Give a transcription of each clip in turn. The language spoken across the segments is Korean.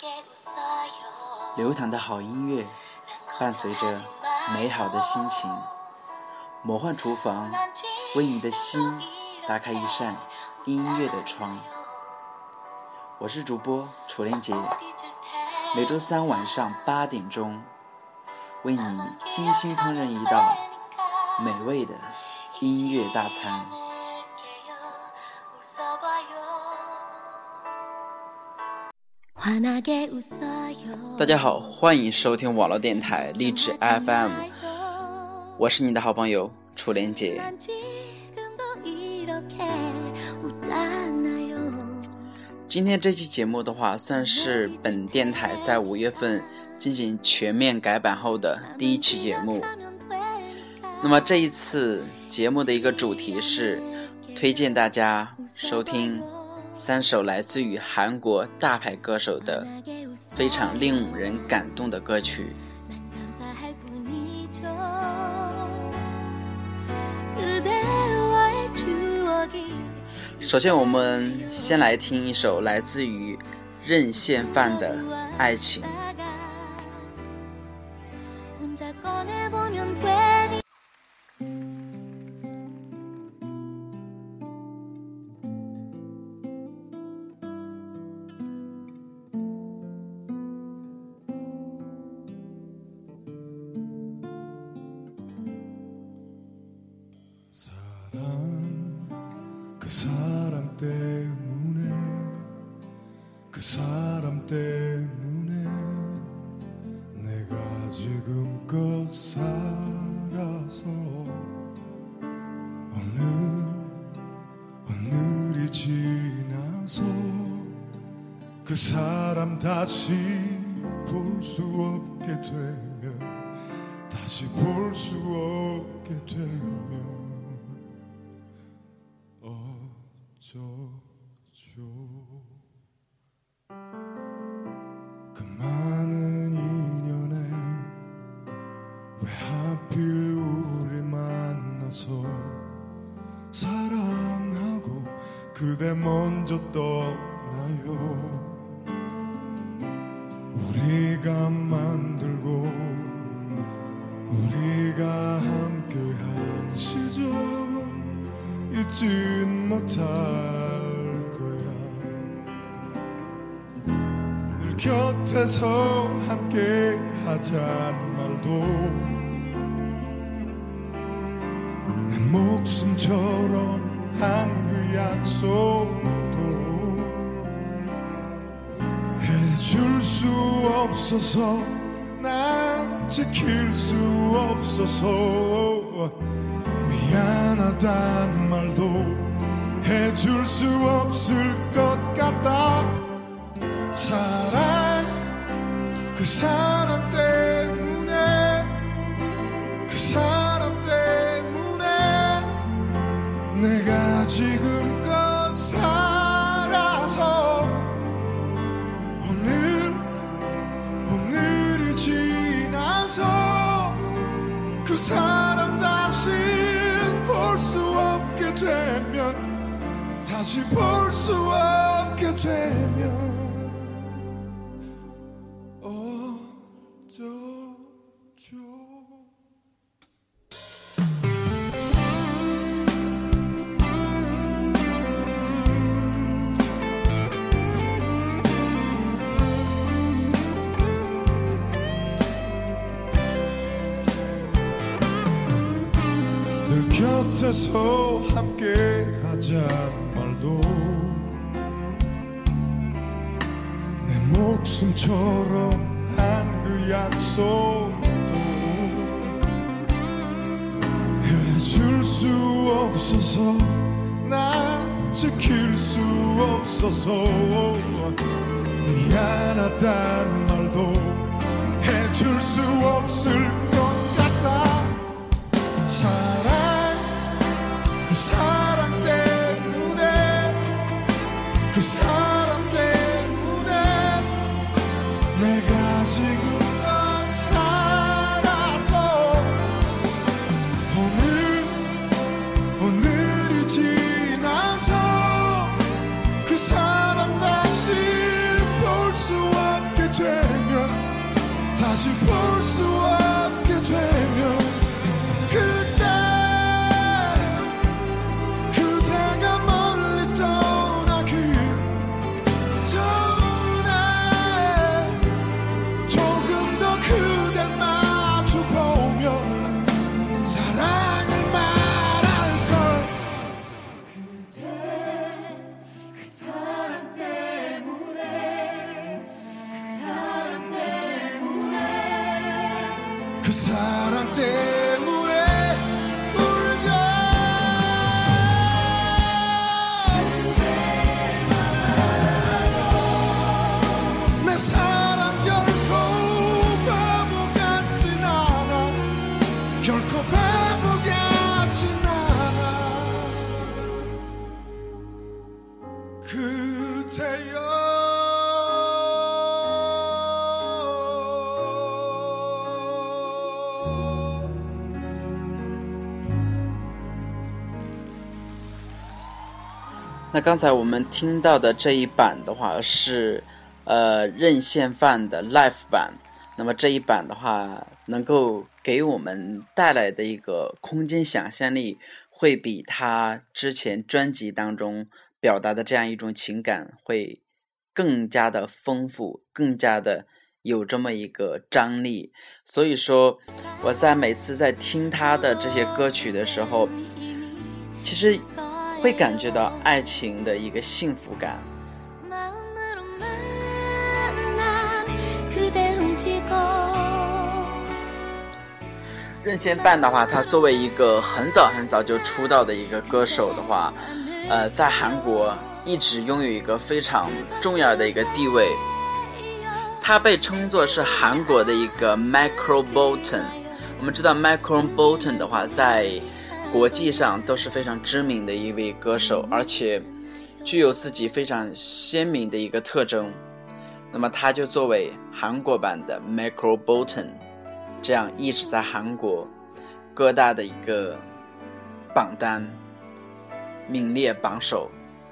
流淌的好音乐，伴随着美好的心情。魔幻厨房为你的心打开一扇音乐的窗。我是主播楚连杰，每周三晚上8点钟，为你精心烹饪一道美味的音乐大餐。大家好，欢迎收听网络电台励志 FM， 我是你的好朋友楚连杰。今天这期节目的话，算是本电台在5月份进行全面改版后的第一期节目。那么这一次节目的一个主题是推荐大家收听3首来自于韩国大牌歌手的非常令人感动的歌曲。首先我们先来听一首来自于任宪范的爱情。 오늘이 지나서 그 사람 다시 볼 수 없게 되면 다시 볼 수 없게 되면 어쩌죠. 그 많은 인연에 왜 하필 우리 만나서 사랑하고 그대 먼저 떠나요. 우리가 만들고 우리가 함께한 시절 잊진 못할 거야. 늘 곁에서 함께 하자는 말도 내 목숨처럼 한 그 약속도 해줄 수 없어서 난 지킬 수 없어서 미안하단 말도 해줄 수 없을 것 같다. 사랑 그 사람 때문에 그 사람 때문에 내가 지금껏 살아서 오늘이 지나서 그 사람 다시 볼 수 없게 되면 다시 볼 수 없게 되면 어쩌죠. 늘 곁에서 함께 하자는 말도 내 목숨처럼 한 그 약속도 해줄 수 없어서 난 지킬 수 없어서 미안하단 말도 해줄 수 없을 것 같다. 사랑 그 사람 때문에 그 사람 때문에 내가 지금껏 살아서 오늘이 지나서 그 사람 다시 볼 수 없게 그 사랑 때문에 울죠. 내 사랑 결코 바보 같진 않아. 결코 바보 같진 않아. 그대여 那刚才我们听到的这一版的话是任宪范的 Live 版，那么这一版的话能够给我们带来的一个空间想象力会比他之前专辑当中表达的这样一种情感会更加的丰富，更加的有这么一个张力。所以说我在每次在听他的这些歌曲的时候，其实会感觉到爱情的一个幸福感。任宪范的话，他作为一个很早就出道的一个歌手的话，在韩国一直拥有一个非常重要的一个地位。他被称作是韩国的一个 Michael Bolton。我们知道 Michael Bolton 的话，在国际上都是非常知名的一位歌手，而且具有自己非常鲜明的一个特征。那么他就作为韩国版的 Michael Bolton， 这样一直在韩国各大的一个榜单名列榜首。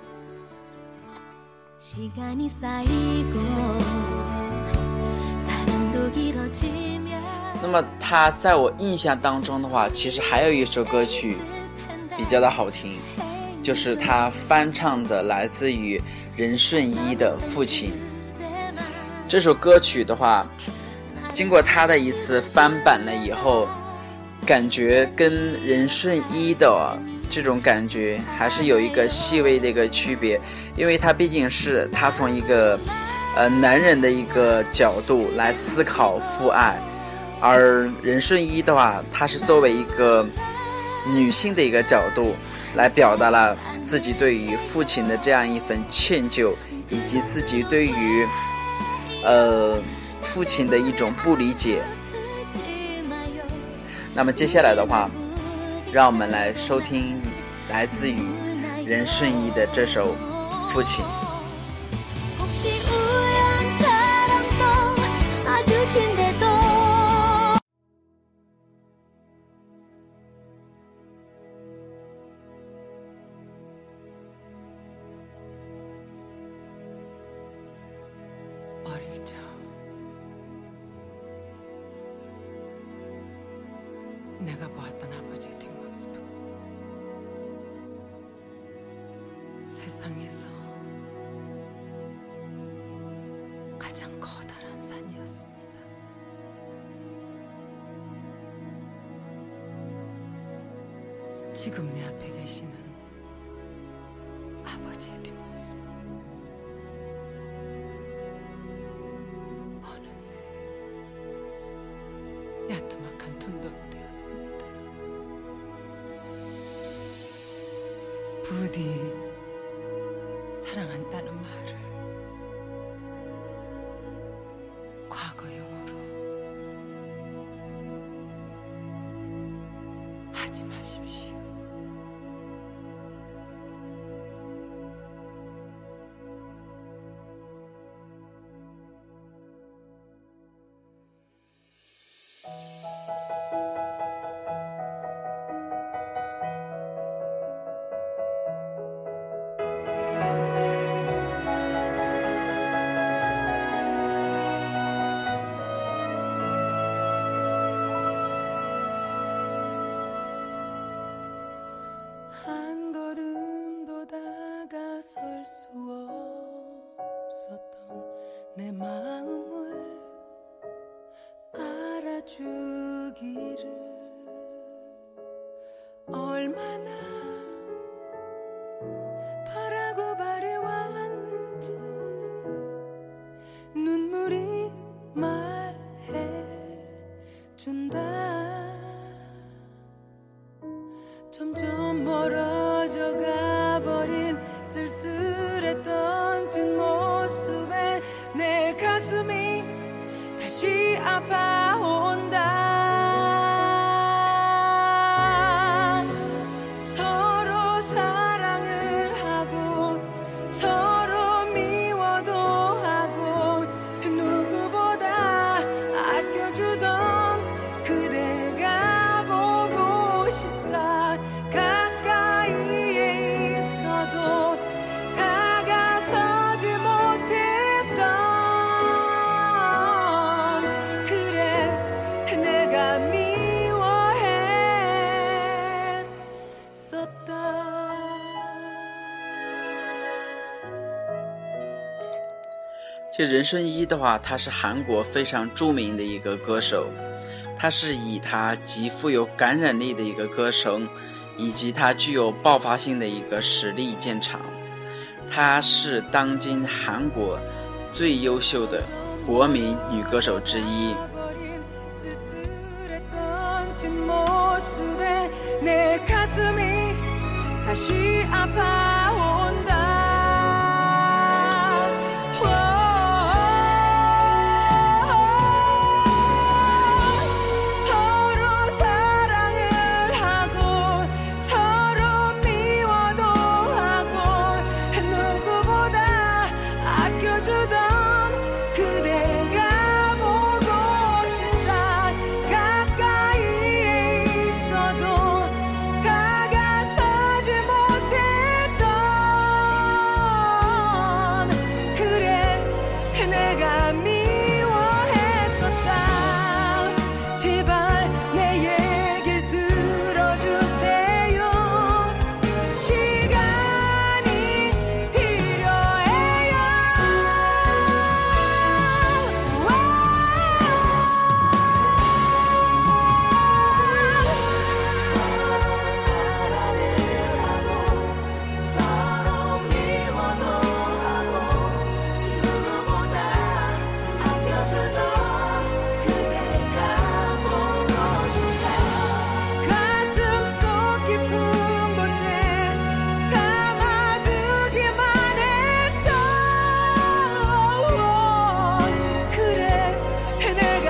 那么他在我印象当中的话，其实还有一首歌曲比较的好听，就是他翻唱的来自于任顺一的父亲。这首歌曲的话，经过他的一次翻版了以后，感觉跟任顺一的这种感觉还是有一个细微的一个区别，因为他毕竟是他从一个男人的一个角度来思考父爱，而任顺一的话，他是作为一个女性的一个角度来表达了自己对于父亲的这样一份歉疚，以及自己对于父亲的一种不理解。那么接下来的话，让我们来收聽来自于任顺一的这首《父亲》。 내가 보았던 아버지의 뒷모습, 세상에서 가장 커다란 산이었습니다. 지금 내 앞에 계시는 아버지의 뒷모습, 어느새 야트막한 둔덕이 되었습니다. 부디 사랑한다는 말을 과거형으로 하지 마십시오. 한 걸음도 다가설 수 없었던 내 마음을 알아주기를 얼마나 바라고 바래왔는지 눈물이 말해준다. 가슴이 다시 아파온다. 서로 사랑을 하고 서로 미워도 하고 누구보다 아껴주던 그대가 보고 싶다. 가까이에 있어도 다가서지 못했던 그래 내가 미워했었다. 这任顺一的话，他是韩国非常著名的一个歌手，他是以他极富有感染力的一个歌声，以及他具有爆发性的一个实力见长。她是当今韩国最优秀的国民女歌手之一。 쓸쓸했던 뒷모습에 내 가슴이 다시 아파온다. 서로 사랑을 하고 서로 미워도 하고 누구보다 아껴주던 그대가 보고 싶다. 가까이에 있어도 다가서지 못했던 그래 내가 미워했었다. 제발 내 얘길 들어주세요. 시간이 필요해요. 가슴속 깊은 곳에 담아두기만 했던 그래 내가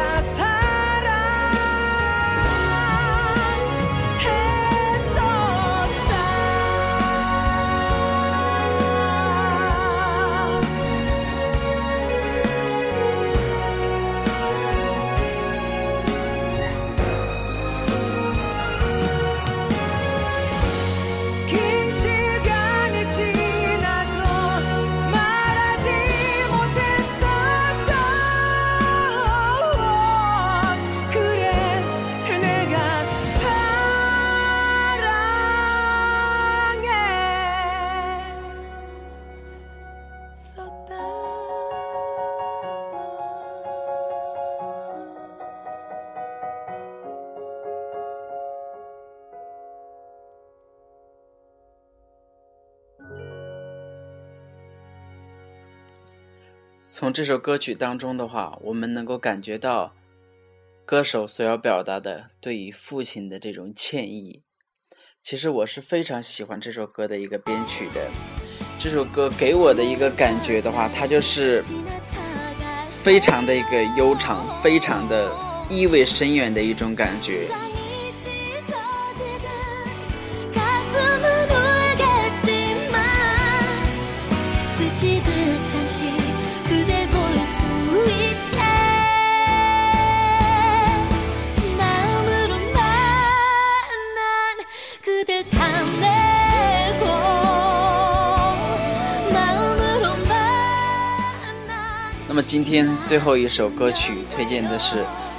긴 시간이 지나도 말하지 못했었던 그래 내가 사랑했었다. “从这首歌曲当中的话，我们能够感觉到歌手所要表达的对于父亲的这种歉意。其实我是非常喜欢这首歌的一个编曲的。这首歌给我的一个感觉的话，它就是非常的一个悠长，非常的意味深远的一种感觉。 가슴은 울겠지만 스치듯 잠시 그댈 볼 수 있게 마음으로 만난 그댈 탐내고 마음으로 만난 那么今天最后一首歌曲推荐的是